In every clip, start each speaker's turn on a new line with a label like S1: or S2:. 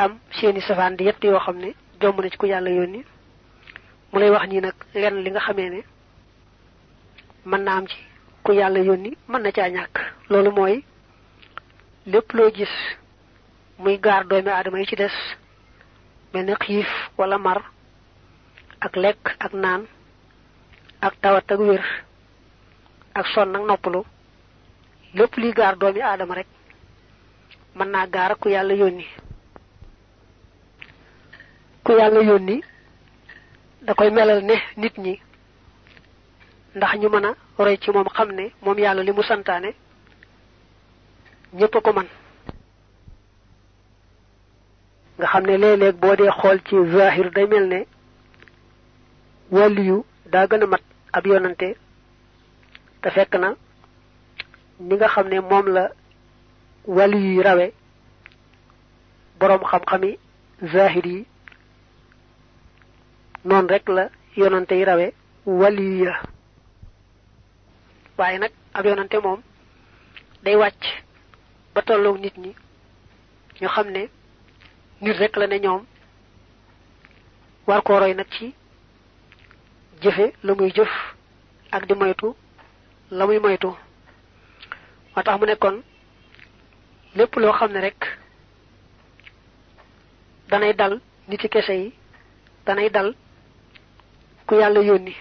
S1: am seeni safaan di yett yoo xam ne jomb na ci ku yàlla yónni mu lay wax nii nag lenn li nga xamee ne mën na am ci ku yàlla yónni mën na caa ñàkk loolu mooy lépp loo gis muy gaar doomi aadama yi ci des mel ni xiif wala mar ak lekk ak naan ak tawat ak wér ak sonn ak noppalu lépp liy gaar doomi aadama rek mën naa gaar ak ku yàlla yónni ku yàlla yónni da koy melal ne nit ñi ndax ñu mën a roy ci moom xam ne moom yàlla li mu santaane ñépp a ko man nga xam ne léeg-léeg boo dee xool ci zahir day mel ne wàlliyu daa gën a mat ab yonante te fekk na ni nga xam ne moom la wàlliyu yi rawe boroom xam-xami zahir yi noonu rek la yonante yi rawe wàlliyu ya waaye nag ab yonante moom day wàcc ba tolloog nit ñi ñu xam ne nit rek la ne ñoom war koo roy nag ci jëfe la muy jëf ak di moytu la muy moytu moo tax mu ne kon lépp loo xam ne rek danay dal niti kese yi danay dal ku yàlla yónni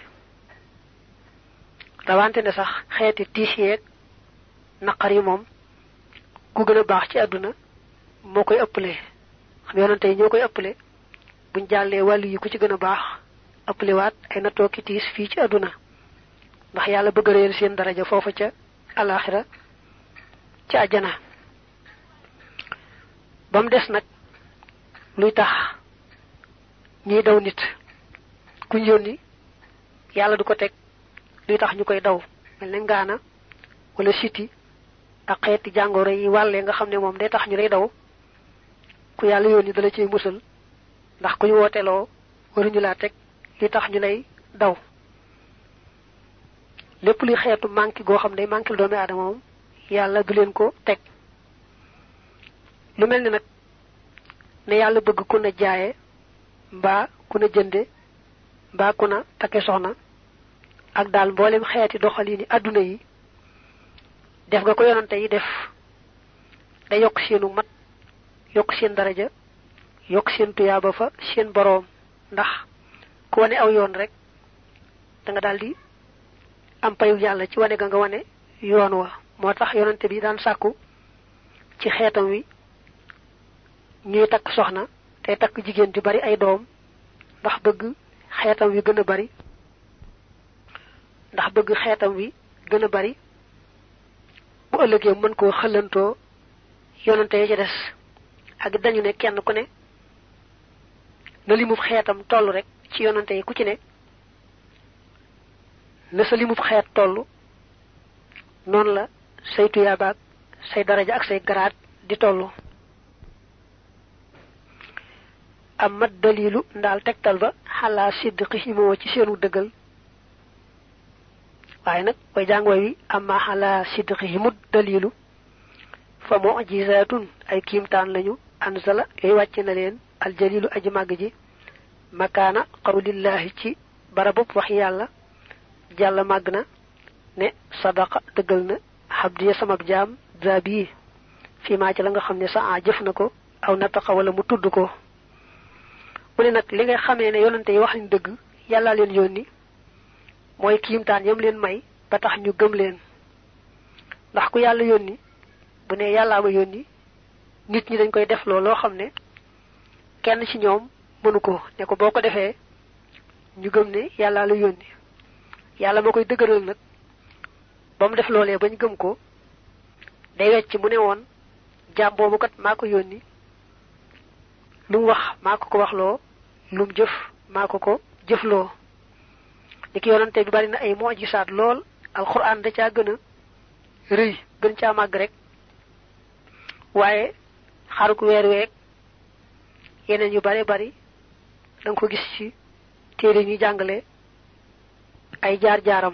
S1: rawante ne sax xeeti tiis yeeg naqar yi moom ku gën a baax ci àdduna moo koy ëppale xam yonante yi ñoo koy ëppale buñ jàllee wàllu yi ku ci gën a baax ëppale waat ay nattoo ki tiis fii ci àdduna ndax yàlla bëgg réel seen daraja foofa ca alaxira ca àjjana ba mu des nag luy tax ñiy daw nit kuñ yónni yàlla du ko teg luy tax ñu koy daw mel ne ngaana wala siti ak xeeti jàngoro yi wàllee nga xam ne moom day tax ñu lay daw ku yàlla yónni dala ciy musal ndax kuñ wooteloo waruñu laa teg li tax ñu lay daw lépp luy xeetu manqué goo xam ne manqué doomi aadama moom yàlla du leen ko teg lu mel ni nag ne yàlla bëgg ku na jaaye mbaa ku na jënde mbaa ku na takke soxna ak daal mboolem xeeti doxalini adduna yi def nga ko yonante yi def da yokk seenu mat yokk seen daraja yokk seen tuyaaba fa seen boroom ndax ku wane aw yoon rek da nga daldi am payu yàlla ci wane ga nga wane yoon wa moo tax yonante bi daan sàkku ci xeetam wi ñuy takk soxna te takk jigéen ju bari ay doom ndax bëgg xeetam wi gën a bari bu ëllëgee mën koo xëlantoo yonante yi ci des ak dañu ne kenn ku ne na limub xeetam toll rek ci yonante yi ku ci ne na sa limub xeet toll noonu la say tuyaabaak say daraja ak say garaat di toll am mat dalilu ndaal tegtal ba xalaa sidqihimoo ci seenu dëggal waaye nag way jàng way wi amma xalaa sidqihimut dalilu fa mu'jizatun ay kiimtaan lañu anzala yooyu wàcce na leen aljalilu aji màgg ji makaana qawlillahi ci barabub wax yàlla jàlla màgg na ne sadaqa dëggal na xabdiya samab jaam zabi fii maa ci la nga xam ne sa jëf na ko aw nataqa wala mu tudd ko mu ne nag li nga xamee ne yonante yi wax nañ dëgg yàlla leen yónni mooy kiimtaan yam leen may ba tax ñu gëm leen ndax ku yàlla yónni bu ne yàllaa ma yónni nit ñi dañ koy def loo xam ne kenn ci ñoom mënu ko ne ko boo ko defee ñu gëm ne yàllaa la yónni yàlla moo koy dëgëral nag ba mu def loolee bañ gëm ko day wecc mu ne woon jaam boobu kat maa ko yónni lu mu wax maa ko ko waxloo lu mu jëf maa ko ko jëfloo ni ki yonante bi bari na ay mu'jisaat lool alxuraan da caa gën a rëy gën caa màgg rek waaye xaruk weer week yeneen yu bare bari da nga ko gis ci téere ñuy jàngale ay jaar-jaaram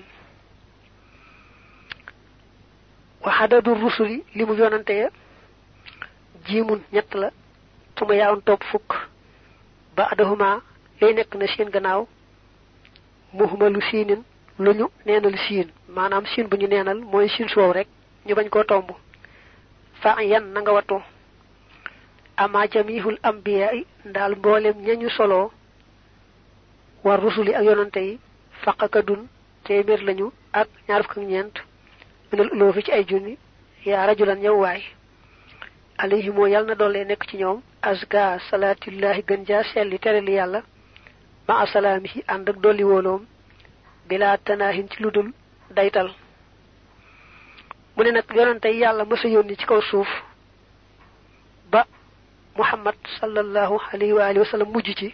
S1: wa adadu rusuli li mu yonante ya jiimun ñett la tuma yaawun topp fukk ba adahuma lay nekk na seen gannaaw muhmalu siinin lu ñu neenal siin maanaam siin bu ñu neenal mooy siin soow rek ñu bañ koo tomb fa yan na nga wattu ama jamihul ambiya'i ndaal mboolem ñañu solo war rusuli ak yonante yi faqakadun téeméer lañu ak ñaar fukk ak ñeent minal uloofi ci ay junni yaa rajulan yow waay alayhi moo yàlla na doole nekk ci ñoom azka salaatillahi gën jaa selli terali yàlla ma asalaamihi ànd ak dolli wóoloom bila tanaahin ci ludul daytal mu ne nag yonante yi yàlla mësa yónni ci kaw suuf ba muhammad sallallahu alayhi wa sallam mujj ci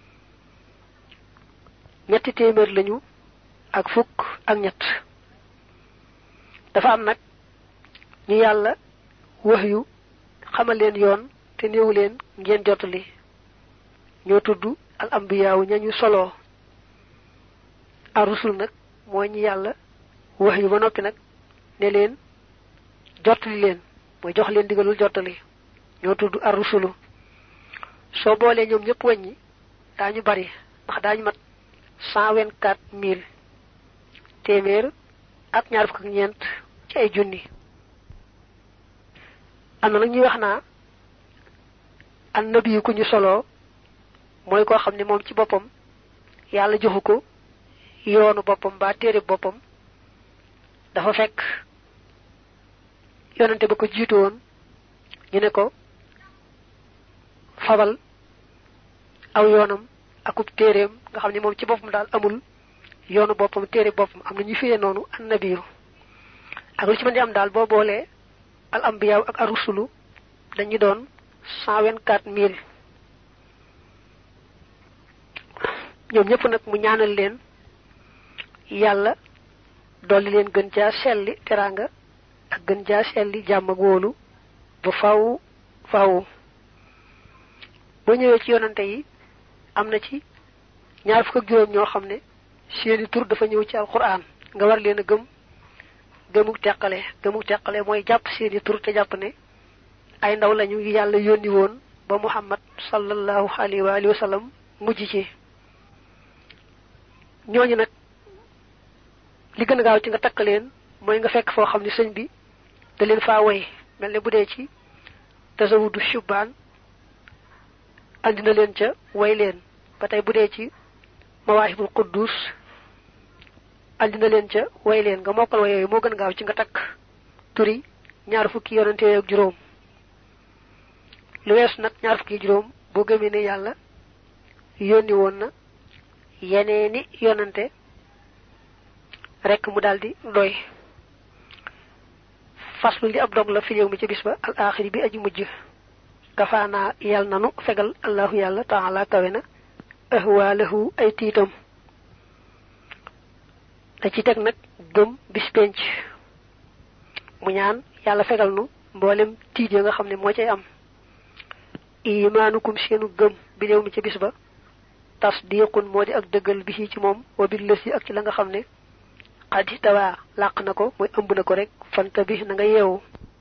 S1: ñetti téeméer lañu ak fukk ak ñett dafa am nag ñu yàlla wax yu xamal leen yoon te néewu leen ngeen jotali ñoo tudd al ambiyaawu ñañu solo arusul nag mooy ñi yàlla wax yu ba noppi nag ne leen jotali leen mooy jox leen digalul jotali ñoo tudd arusulu soo boolee ñoom ñëpp wàññi daañu bari ndax daañu mat 124,000 téeméer ak ñaar fukk ak ñeent ci ay junni am na nag ñuy wax naa annabi ku ñu solo mooy koo xam ne moom ci boppam yàlla joxu ko yoonu boppam ba téere boppam dafa fekk yonante ba ko jiitu woon ñu ne ko fabal aw yoonam akub téereem nga xam ne moom ci boppam daal amul yoonu boppam téere boppam am na ñu firee noonu annabiyu ak lu ci mën di am daal boo boolee al ambiyaaw ak arusulu dañu doon 124,000 ñoom ñëpp nag mu ñaanal leen yàlla dolli leen gën jaa selli teraanga ak gën jaa selli jàmm ak wóolu ba faw faw boo ñëwee ci yonante yi am na ci ñaar fukk ak juróom ñoo xam ne seeni tur dafa ñëw ci alquran nga war leen a gëmuk teqale mooy jàpp seeni tur te jàpp ne ay ndaw lañu yàlla yónni woon ba muhammad sallallahu alayhi wa sallam mujj ci ñooñu nag li gën a gaaw ci nga takk leen mooy nga fekk foo xam ne sëñ bi da leen faa woy mel ne bu dee ci tasawudu shubaan andi na leen ca way leen ba tey bu dee ci mawaahibul quddus andi na leen ca way leen nga mokkal way yooyu moo gën a gaaw ci nga takk turi ñaar fukki yonante ak juróom lu wees nag ñaar fukki juróom boo gëmee ne yàlla yónni woon na yeneeni yonante rek mu daldi doy faslu li ab dog la fi yow mi ci bis ba al axiri bi aji mujj kafaana yàlla nanu fegal allahu yàlla taala kawe na ahwaalahu ay tiitam da ci teg nag gëm bis penc mu ñaan yàlla fegal nu mboolem tiit ya nga xam ne moo cay am imaanukum seenu gëm bi yow mi ci bis ba tasdiqun moo di ak dëggal bi ci moom wa bil lësi ak ci la nga xam ne xaddi tawaa làq na ko mooy ëmb na ko rek fanta bi na nga yeewu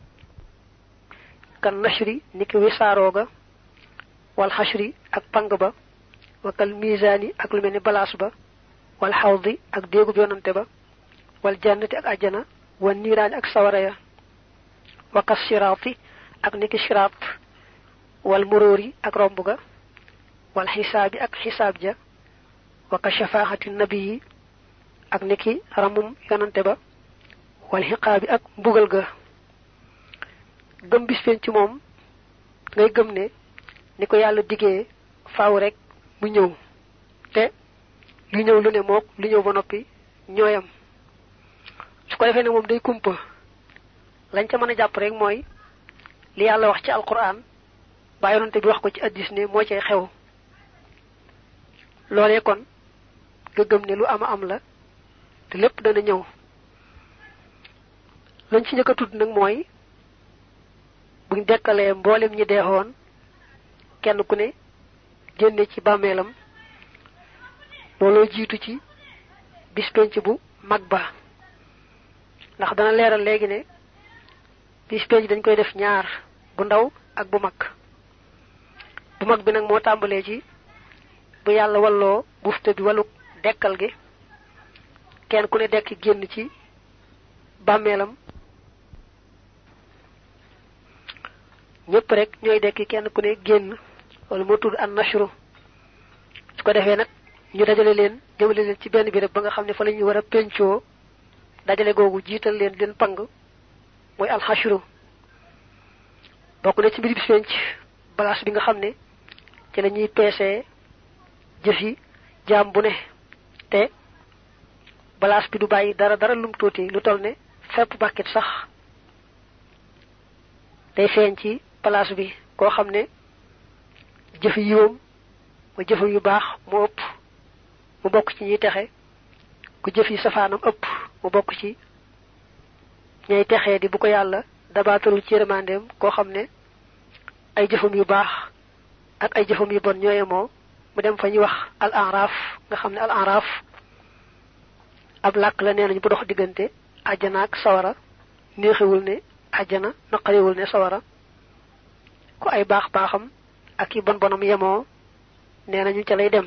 S1: kan nashri niki wisaarooga wal xashri ak pang ba wakal misaani ak lu mel ni balaas ba wal xawdi ak déegub yonante ba wal jannati ak ajjana wal niiraani ak sawara ya waka siraati ak niki siraat wal muróori ak romb ga wal xisaabi ak xisaab ja waka shafaaxati nabiyi ak niki ramum yonante ba wal xiqaabi ak mbugal ga gëm bis penc ci moom ngay gëm ne ni ko yàlla diggee faaw rek mu ñëw te lu ñëw lu ne mook lu ñëw ba noppi ñooyam su ko defee ne moom day kumpa lañ ca mën a jàpp rek mooy li yàlla wax ci alquran ba yonante bi wax ko ci addis ne moo cay xew loolee kon nga gëm ne lu ama am la te lépp dana ñëw lañ ci njëkk a tudd nag mooy buñ dekkalee mboolem ñi deexoon kenn ku ne génne ci bàmmeelam looloo jiitu ci bis penc bu mag ba ndax dana leeral léegi ne bis penc dañ koy def ñaar bu ndaw ak bu mag bu mag bi nag moo tàmbalee ci bu yàlla walloo bufte bi waluk dekkal gi kenn ku ne dekk génn ci bàmmeelam ñëpp rek ñooy dekki kenn ku ne génn wala moo tudd an nashru su ko defee nag ñu dajale leen jëmale leen ci benn bi rek ba nga xam ne fa la ñu war a pencoo dajale googu jiital leen leen pang mooy alxashru bokk na ci mbir bis penc balaas bi nga xam ne ci la ñuy peesee jëf yi jaam bu ne te balaas bi du bàyyi dara lum tuuti lu toll ne fépp bàkkit sax day feeñ ci balaas bi koo xam ne jëf yiwam ma jëfam yu baax mu ëpp mu bokk ci ñuy texe ku jëf yi safaanam ëpp mu bokk ci ñay texee di bu ko yàlla dabaatalul ci yërmandeem koo xam ne ay jëfam yu baax ak ay jëfam yu bon ñooye moo mu dem fa ñuy wax al araf nga xam ne al araf ab làkk la nee nañu bu dox diggante àjjana ak sawara neexewul ne àjjana naqariwul ne sawara ku ay baax baaxam ak yi bon bonam yemoo nee nañu ca lay dem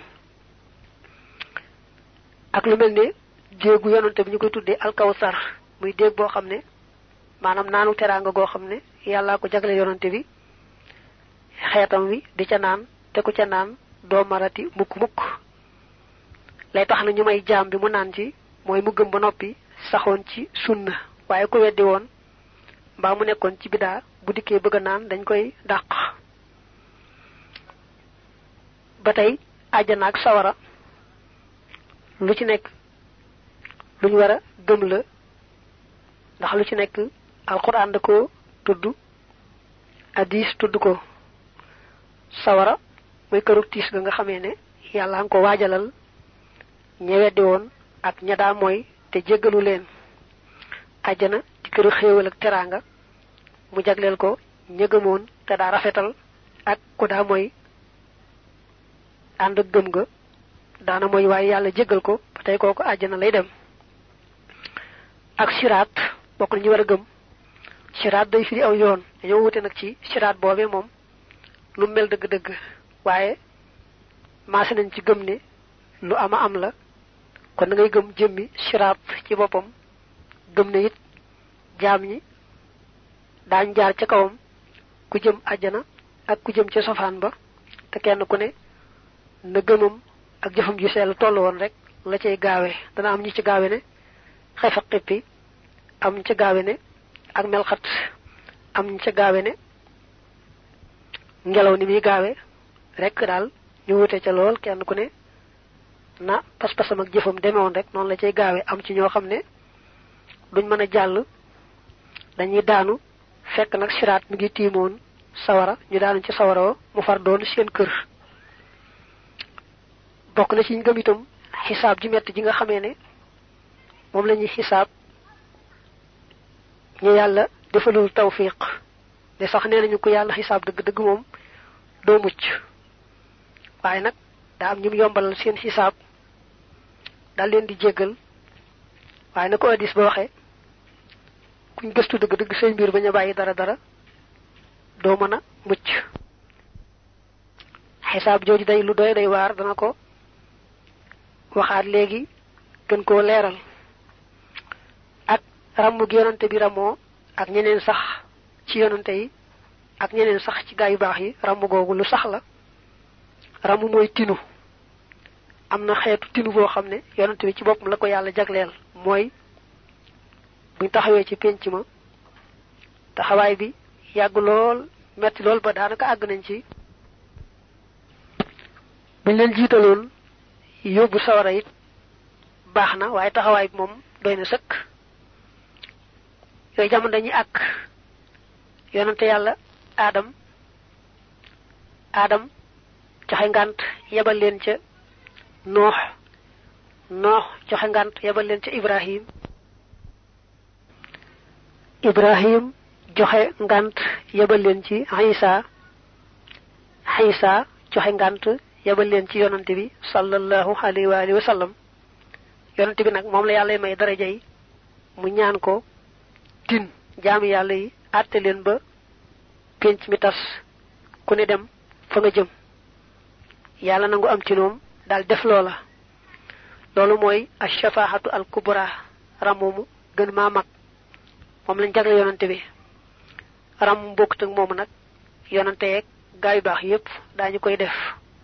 S1: ak lu mel ne déegu yonante bi ñu koy tuddee alkawsar muy déeg boo xam ne maanaam naanu teraanga goo xam ne yàllaa ko jagle yonante bi xeetam wi di ca naan te ku ca naan doo marati mukk lay tax na ñu may jaam bi mu naan ci mooy mu gëm ba noppi saxoon ci sunna waaye ku weddi woon mbaa mu nekkoon ci bidaa bu dikkee bëgg a naan dañ koy dàq ba tey àjjana ak sawara lu ci nekk lu ñu war a gëm la ndax lu ci nekk alxuraan da ko tudd hadiis tudd ko sawara mooy kërug tiis ga nga xamee ne yàlla nga ko waajalal ña weddi woon ak ña daa mooy te jéggalu leen àjjana di këru xéewal ak teraanga mu jagleel ko ña gëmoon te daa rafetal ak ku daa mooy ànd ak gëm ga daana mooy waaye yàlla jéggal ko ba tey kooku àjjana lay dem ak siraat bokk na ñu war a gëm siraat day firi aw yoon dañoo wute nag ci siraat boobee moom lu mel dëgg-dëgg waaye maase nañ ci gëm ne lu ama am la kon da ngay gëm jëmmi siraat ci boppam gëm ne it jaam ñi daañ jaar ca kawam ku jëm àjjana ak ku jëm ca sofaan ba te kenn ku ne na gëmam ak jëfam ju sell toll woon rek la cay gaawe dana am ñu ci gaawe ne xefa xippi am ñu ca gaawe ne ak melxat am ñu ca gaawe ne ngelaw ni muy gaawe rek daal ñu wute ca lool kenn ku ne na pas-pasam ak jëfam demewoon rek noonu la cay gaawe am ci ñoo xam ne duñ mën a jàll dañuy daanu fekk nag siraat mi ngi tiimoon sawara ñu daanu ci sawara mu far doon seen kër bokk na ci ñu gëm itam xisaab ji metti ji nga xamee ne moom la ñuy xisaab ñu yàlla defalul tawfiq de sax nee nañu ko yàlla xisaab dëgg-dëgg moom doo mucc waaye nag daa am ñu yombalal seen xisaab daal leen di jéggal waaye na ko hadiis ba waxee kuñ gëstu dëgg-dëgg say mbir bañ a bàyyi dara doo mën a mucc xisaab jooju day lu doy day waar dana ko waxaat léegi gën koo leeral ak ràmm gi yonante bi ramoo ak ñeneen sax ci yonante yi ak ñeneen sax ci gaa yu baax yi ràmm googu lu sax la ràmm mooy tinu am na xeetu tinu boo xam ne yonante bi ci boppam la ko yàlla jagleel mooy buñ taxawee ci pénc ma taxawaay bi yàgg lool metti lool ba daanaka àgg nañ ci buñ leen jiitaloon yóbbu sawara it baax na waaye taxawaay bi moom doy na sëkk yooyu jamono dañuy àkk yonante yàlla aadam joxe ngànt yebal leen ca noox joxe ngànt yebal leen ca ibrahim joxe ngànt yebal leen ci Isa joxe ngànt yebal leen ci yonante bi sallallahu alayhi wa alihi wa sallam yonante bi nag moom la yàlla may daraja yi mu ñaan ko tin jaami yàlla yi àtte leen ba penc mi tas ku ne dem fa nga jëm yàlla nangu am ci ñoom dal def loola loolu mooy ash-shafaahatu al-kubra ramumu gën maa mag moom lañ jagle yonante bi ram bokkut ak moomu nag yonante yeeg gaay yu baax yépp daañu koy def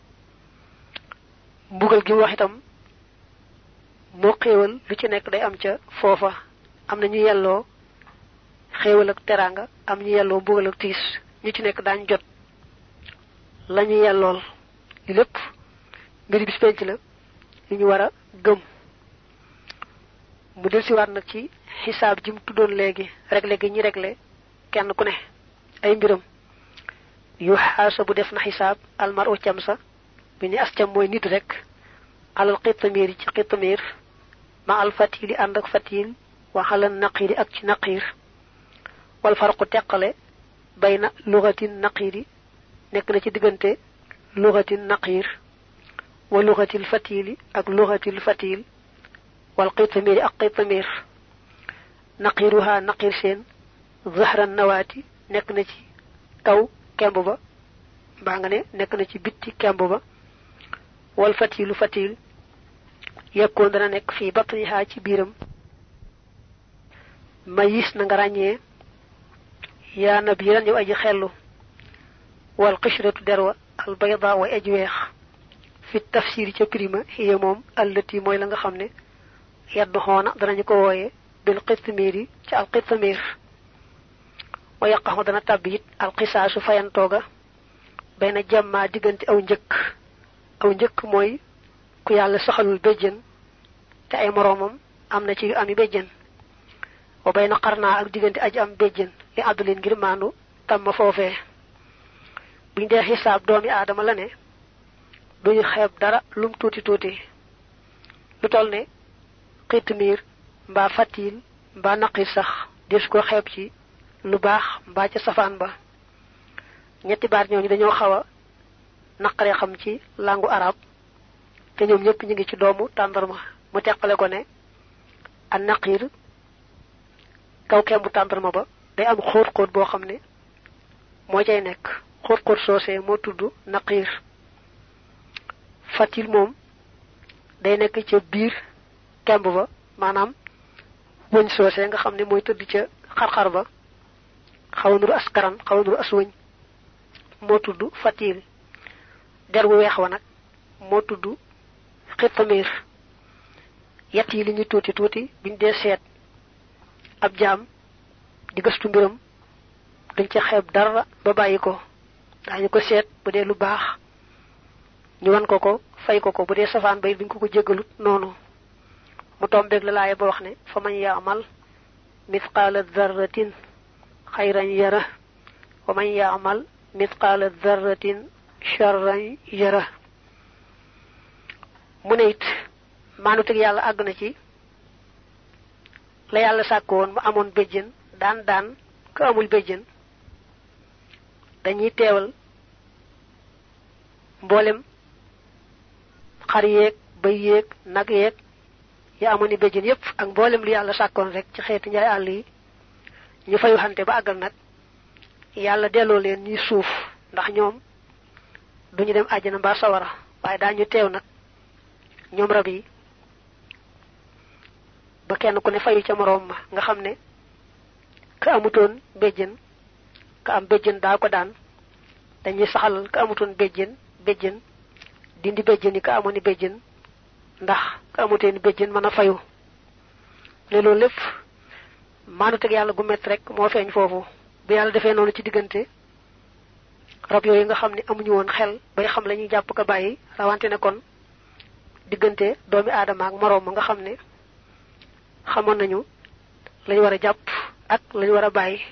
S1: mbugal gi wax itam moo xéewal lu ci nekk day am ca foofa am na ñu yelloo xéewal ak teranga am ñu yelloo mbugal ak tiis ñu ci nekk daañu jot la ñu yellool li lépp mbiri bis penc la li ñu war a gëm mu del siwaat nag ci xisaab ji mu tuddoon léegi réglé gi ñi réglé kenn ku ne ay mbiram yu xaasa bu def na xisaab almar u cam sa bi ni as cam mooy nit rek alal xittamir ci xittamir ma al fatili ànd ak fatil waxalal naqiri ak ci naqir wal farqu teqale bayna lugatin naqiri nekk na ci diggante lugatin naqir wa lugatil fatili ak lugatil fatil wal xittamir ak xittamir naqiruha naqir seen zahran nawaati nekk na ci kaw kemb ba mbaa nga ne nekk na ci bitti kemb ba wal fatilu fatil yekkoon dana nekk fii batniha ci biiram mayis na nga ràññee yaa nabiran yow aji xellu wal qishratu derwa al bayda way aji weex fi tafsir ca prima hiya moom allati mooy la nga xam ne yaddu xoona danañu ko wooye bil qitmiri ci al qitmir wa yaqaxu dana tàbbi it al qisaasu fayantooga bayna jamma diggante aw njëkk mooy ku yàlla saxalul béjjën te ay moroomam am na ci yu ami béjjën wa bayna qarnaa ak diggante aji am béjjën li àddulin ngir maandu tam ma foofee buñ dee xisaab doomi aadama la ne duñu xeeb dara lum tuuti tuuti lu toll ne xitmiir mbaa fatil mbaa naqir sax des ko xeeb ci lu baax mbaa ca safaan ba ñetti baat ñooñu dañoo xaw a naqaree xam ci langu arab te ñoom ñëpp ñu ngi ci doomu tàndarma mu teqale ko ne an naqir kaw kembu tàndarma ba day am xóot-xóot boo xam ne moo cay nekk xóot-xóot soosee moo tudd naqir fatil moom day nekk ca biir kemb ba maanaam wëñ soosee nga xam ne mooy tëdd ca xar-xar ba xaw nuru askaran xaw nuru as wëñ moo tudd fatil der wu weex wa nag moo tudd xittamir yett yi li ñu tuuti tuuti biñ dee seet ab jaam di gëstu mbiram duñ ca xeeb dara ba bàyyi ko daañu ko seet bu dee lu baax ñu wan ko fay ko bu dee safaan bay duñ ko jéggalut noonu mu tombeeg la laaya ba wax ne fa man yaamal mithqaala dharratin xayran yara wa man yaamal mithqaala dharratin sharran yara mu ne it maanu teg yàlla àgg na ci la yàlla sàkk woon mu amoon béjjën daan ko amul béjjën dañuy teewal mboolem xar yeeg bëy yeeg nag yeeg ya amoon i béjjën yépp ak mboolem lu yàlla sàkkoon rek ci xeeti njaay àll yi ñu fayu xante ba àggal nag yàlla delloo leen ñuy suuf ndax ñoom duñu dem àjjana mbaa sawara waaye daañu teew nag ñoom rab yi ba kenn ku ne fayu ca moroom ma nga xam ne ka amutoon béjjën ka am béjjën daa ko daan dañuy saxalal ka amutoon béjjën dindi béjjën yi ka amoon i béjjën ndax ka amutoon béjjën mën a fayu ne loolu lépp maanu teg yàlla gu mett rek moo feeñ foofu bu yàlla defee noonu ci diggante rab yooyu nga xam ne amuñu woon xel bay xam la ñuy jàpp ko bàyyi rawante ne kon diggante doomi aadama ak moroom ma nga xam ne xamoon nañu lañu war a jàpp ak lañu war a bàyyi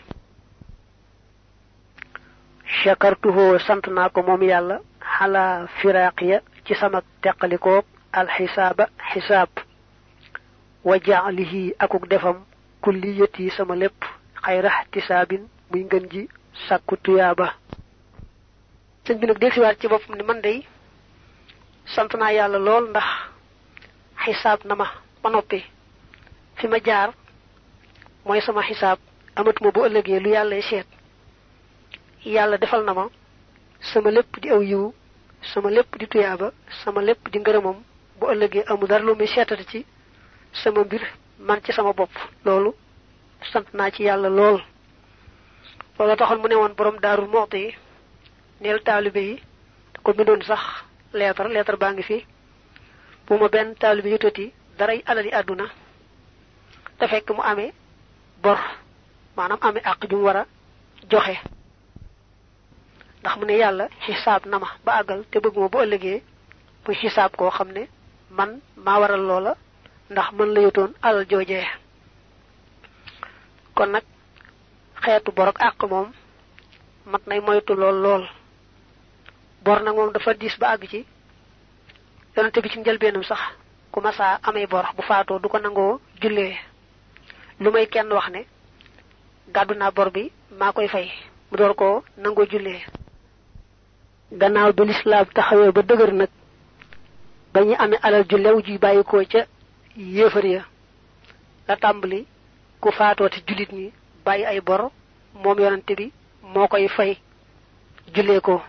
S1: shakartuhu sant naa ko moom yàlla xala firaqiya ci sama teqalikoog alxisaaba xisaab wa jaalihi akuk defam kulliyati sama lépp xayra ihtisaabin muy ngën ji sàkku tuyaaba sëñ bi nag del siwaat ci boppam ne man day sant naa yàlla lool ndax xisaab na ma ba noppi fi ma jaar mooy sama xisaab amatuma bu ëllëgee lu yàllay seet yàlla defal na ma sama lépp di aw yiw sama lépp di tuyaaba sama lépp di ngërëmam bu ëllëgee amu dara lu muy seetati ci sama mbir man ci sama bopp loolu sant naa ci yàlla lool loolu taxoon mu ne woon borom Daaru Muxti neel taalibe yi ko bindoon sax leetar baa ngi fi bu ma benn taalibe yutati daray alali àdduna te fekk mu amee bor maanaam amee àq ju mu war a joxe ndax mu ne yàlla xisaab na ma ba àggal te bëgg ma bu ëllëgee muy xisaab koo xam ne man maa waral loola ndax mën la yutoon alal joojee kon nag xeetu bor ak àq moom mat nay moytu lool bor nag moom dafa diis ba àgg ci yonente bi ci njëlbeenam sax ku masaa amee bor bu faatoo du ko nangoo jullee lu may kenn wax ne gàddu naa bor bi maa koy fay mu door koo nangoo jullee gannaaw bi lislaam taxawee ba dëgër nag ba ñu amee alal ju lew ji bàyyikoo ca yéefar ya la tàmbali ku faatoo te jullit ñi bàyyi ay bor moom yonante bi moo koy fay jullee ko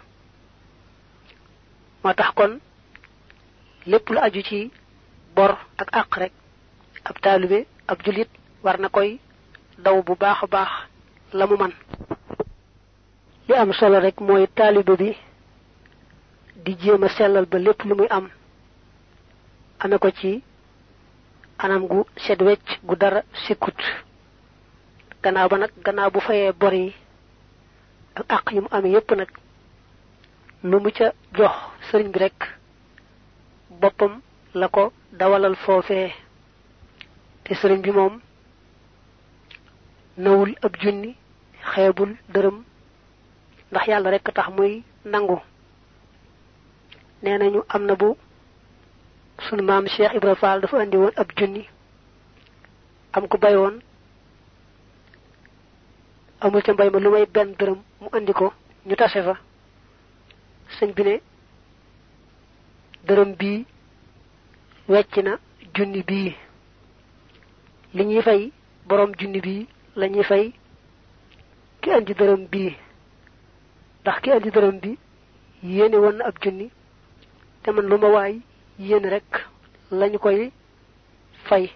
S1: moo tax kon lépp lu aju ci bor ak àq rek ab taalibe ab jullit war na koy daw bu baax a baax la mu man li am solo rek mooy taalibe bi di jéem a sellal ba lépp lu muy am ame ko ci anam gu set wecc gu dara sikkut gannaaw ba nag gannaaw bu fayee bor yi ak àq yi mu amee yépp nag lu mu ca jox sëriñ bi rek boppam la ko dawalal foofee te sëriñ bi moom nawul ab junni xeebul dërëm ndax yàlla rek tax muy nangu nee nañu am na bu sunu maam Cheikh Ibra Fall dafa andi woon ab junni am ko bay woon amul ca mbay ma lu may benn dërëm mu andi ko ñu tase fa sëñ bi ne dërëm bii wecc na junni bii li ñuy fay borom junni bii la ñuy fay ki andi dërëm bii ndax ki andi dërëm bi yéene woon na ab junni te man lu ma waay yéene rek lañu koy fay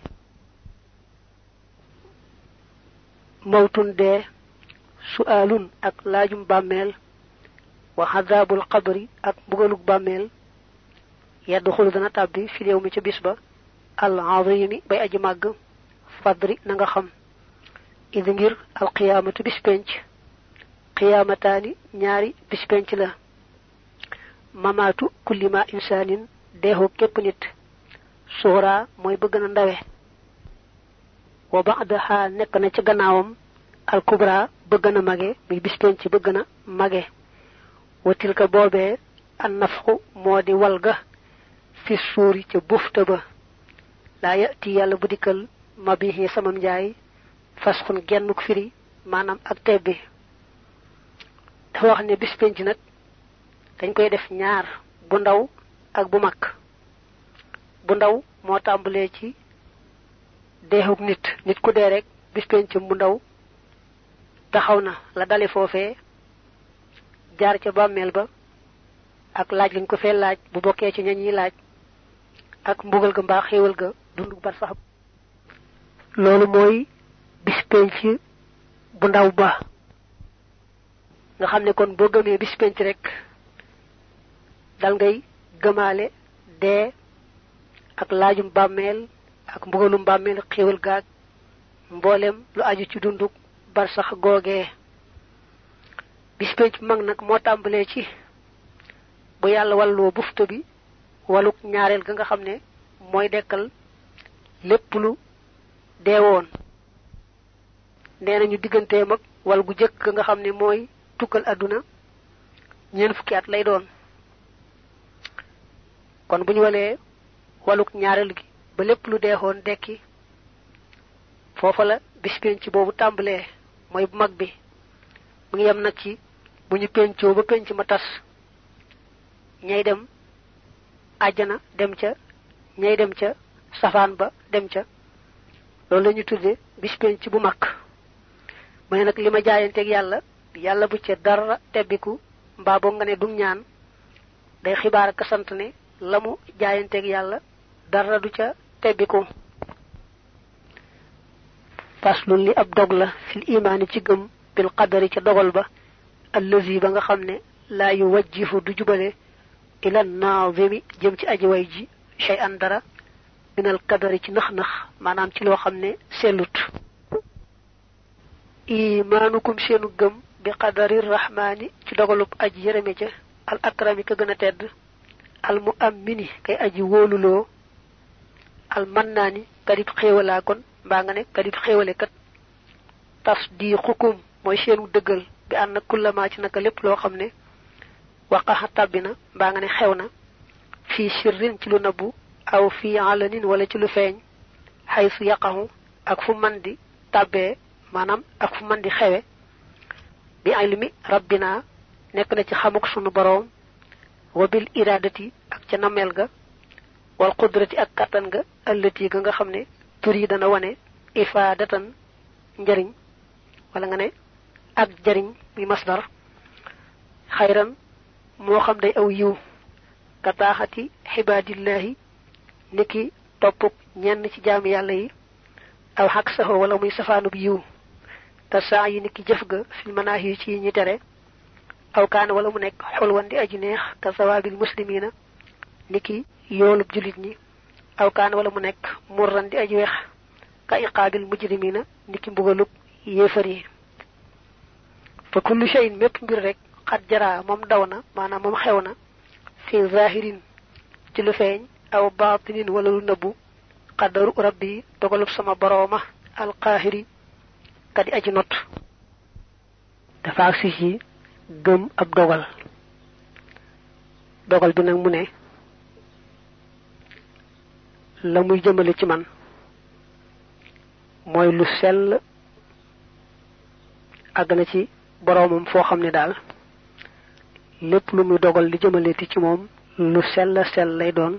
S1: mawtun dee su'aalun ak laajum bàmmeel wa xadaabul qabri ak mbugalug bàmmeel yadxulu dana tàbbi fi réew mi ca bis ba al azimi bay aji màgg fadri na nga xam idi ngir al qiyaamatu bis penc qiyaamataani ñaari bis penc la mamaatu kulli ma insaanin deexu képp nit suura mooy bëgg na ndawe wa ba'daha nekk na ci gannaawam al kubra bëgg na mage muy bis penc bëgg na mage wa tilka boobee an nafxu moo di walga fi suuri ca bufta ba laa yati yàlla bu dikkal ma bihi samam njaay fasxun gennuk firi maanaam ak tebbi dafa wax ne bis penc nag dañ koy def ñaar bu ndaw ak bu mag bu ndaw moo tàmbalee ci deexuk nit ku dee rek bis pencam bu ndaw taxaw na la dale foofee jaar ca bàmmeel ba ak laaj lañ ko fee laaj bu bokkee ci ñañ yi laaj ak mbugal ga mbaa xéewal ga dundu bar sax loolu mooy bis penc bu ndaw ba nga xam ne kon boo gëmee bis penc rek dal ngay gëmaale dee ak laajum bàmmeel ak mbugalum bàmmeel xéewal gaag mboolem lu aju ci dunduk bar sax googee bis penc mag nag moo tàmbalee ci bu yàlla walloo bufta bi waluk ñaareel ga nga xam ne mooy dekkal lépp lu deewoon nee nañu digganteem ak wal gu jëkk nga xam ne mooy tukkal àdduna ñeent fukki at lay doon kon bu ñu walee waluk ñaareel gi ba lépp lu deexoon dekki foofa la bis penc boobu tàmbalee mooy bu mag bi mu ngi yem nag ci bu ñu pencoo ba penc ma tas ñay dem àjjana dem ca ñay dem ca safaan ba dem ca loolu la ñu tudde bis penc bu mag mu ne nag li ma jaayanteeg yàlla bu ca dara tebbiku mbaa boo nga ne dum ñaan day xibaar ak sant ne lamu jaayanteeg yàlla dara du ca tebbiku. faslun li ab dog la fil imaani ci gëm bil qadari ca dogal ba allazi ba nga xam ne laa yu wajjifu du jubale ila naazimi jëm ci aji way ji shay'an dara minal qadari ci nax-nax maanaam ci loo xam ne sellut. imaanukum seenu gëm bi qadari rahmaani ci dogalub aji yërëme ca al akrami ka gën a tedd al mu'ammini kay aji wóoluloo al mannaani kadib xéewalaa kon mbaa nga ne kadib xéewale kat tasdiqukum mooy seenu dëggal bi ànd kullama ci naka lépp loo xam ne waqaxa tàbbina mbaa nga ne xew na fii sirrin ci lu nabbu aw fii alanin wala ci lu feeñ xaysu yaqaxu ak fu man di tàbbee maanaam ak fu man di xewe bi ilmi rabbina nekk na ci xamuk sunu boroom wa bil iradati ak ca nameel ga wal qudrati ak kattan ga allati ga nga xam ne tur yi dana wane ifaadatan njariñ wala nga ne ak jariñ muy masdar xayran moo xam day aw yiw kataaxati xibaadillahi niki toppuk ñenn ci jaami yàlla yi aw xaq saxoo wala muy safaanub yiw te saa yi niki jëf ga fil manaahi yi ci ñi tere aw kaana wala mu nekk xulwan di aji neex ka sawaabil muslimina niki yoolub julit ñi aw kaana wala mu nekk murran di aji weex ka iqaabil mujrimina niki mbugalub yéefar yi. fa kullu shay'in mépp mbir rek xat jaraa moom daw na maanaam moom xew na fi zahirin ci lu feeñ aw baatinin wala lu nëbbu qadaru rabbi dogalub sama borooma alqaahiri kadi aji not. dafa agsi ci gëm ab dogal dogal bi nag mu ne la muy jëmale ci man mooy lu sell àgg na ci boroomam foo xam ne daal lépp lu muy dogal li jëmaleti ci moom lu sell lay doon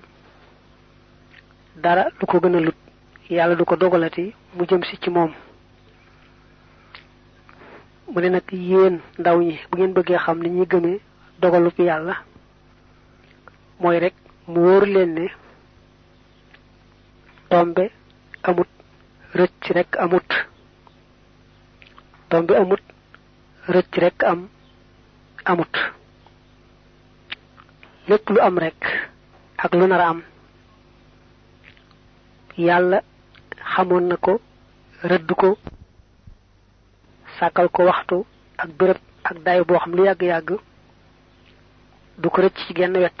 S1: dara lu ko gën a lut yàlla du ko dogalati mu jëm si ci moom. mu ne nag yéen ndaw ñi bu ngeen bëggee xam ni ñuy gëmee dogalub yàlla mooy rek mu wóor leen ne tombe amut rëcc rek amut tombe amut rëcc rek amut lépp lu am rek ak lu nar a am yàlla xamoon na ko rëdd ko sàkkal ko waxtu ak béréb ak daay boo xam lu yàgg-yàgg du ko rëcc ci genn wet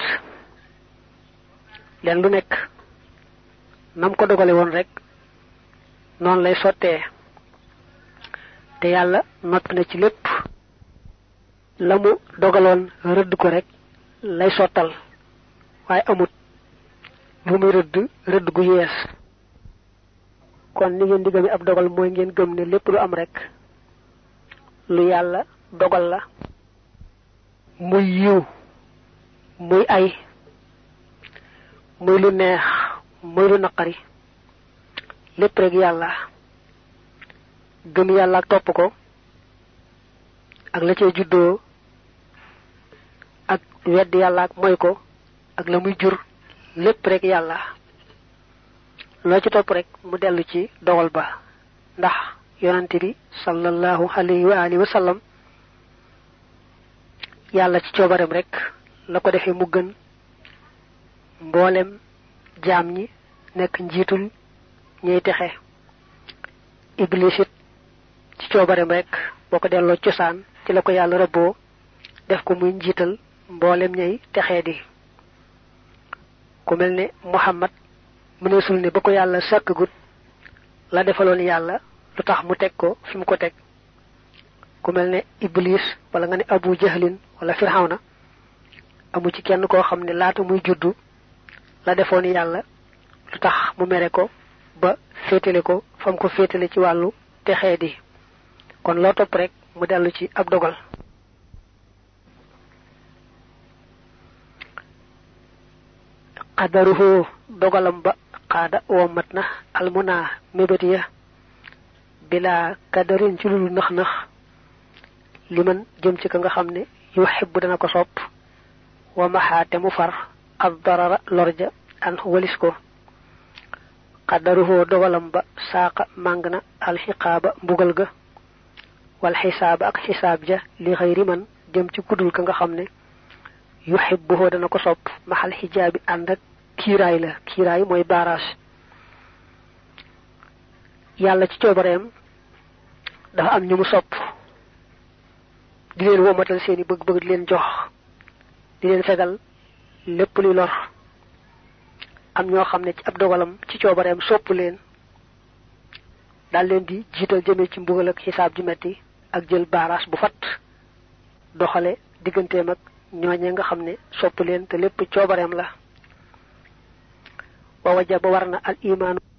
S1: leen lu nekk nam ko dogale woon rek noonu lay sottee te yàlla noppi na ci lépp la mu dogaloon rëdd ko rek lay sottal waaye amut lu muy rëdd gu yees. kon ni ngeen di gëmee ab dogal mooy ngeen gëm ne lépp lu am rek lu yàlla dogal la muy yiw muy ay muy lu neex muy lu naqari lépp rek yàlla. gëm yàlla ak topp ko ak la cay juddoo ak wedd yàlla ak moy ko ak la muy jur lépp rek yàlla. loo ci topp rek mu dellu ci dogal ba ndax yonante bi sallallahu alayhi wa alihi wa sallam yàlla ci coobarem rek la ko defee mu gën mboolem jaam ñi nekk njiitul ñuy texe. iblis it ci coobarem rek boo ko delloo cosaan ci la ko yàlla rëbboo def ko muy njiital mboolem ñay texee di. ku mel ne Muhammad mëneesul ne ba ko yàlla sàkkagut la defaloon yàlla lu tax mu teg ko fi mu ko teg. ku mel ne iblis wala nga ne abu jahlin wala firxawna amu ci kenn koo xam ne laata muy juddu la defoon yàlla lu tax mu mere ko ba féetale ko fa mu ko féetale ci wàllu texee di. kon loo topp rek mu dellu ci ab dogal. qadaruhu dogalam ba xaada womat na almuna mébét bila kadarin ci lulu nax-nax liman jëm ci ka nga xam ne yuhibbu dana ko sopp wa mahate mu far ad darara lorja an walis ko qadaruhu dogalam ba saqa mangna al hiqaba mbugal ga wal hisab ak hisab ja li ghayri man dem ci kudul ka nga xamne yuhibbuhu dana ko sopp mahal hijabi and ak kiray la kiray moy barage yalla ci ciobareem dafa am ñu mu sopp di leen womatal seeni bëgg-bëgg di leen jox di leen fegal lépp luy lor am ñoo xam ne ci ab dogalam ci coobareem sopp leen daal leen di jiital jëmee ci mbugal ak xisaab ju metti ak jël baaraas bu fat doxale digganteem ak ñooñe nga xam ne sopp leen te lépp coobareem la wa wajaba warna al iman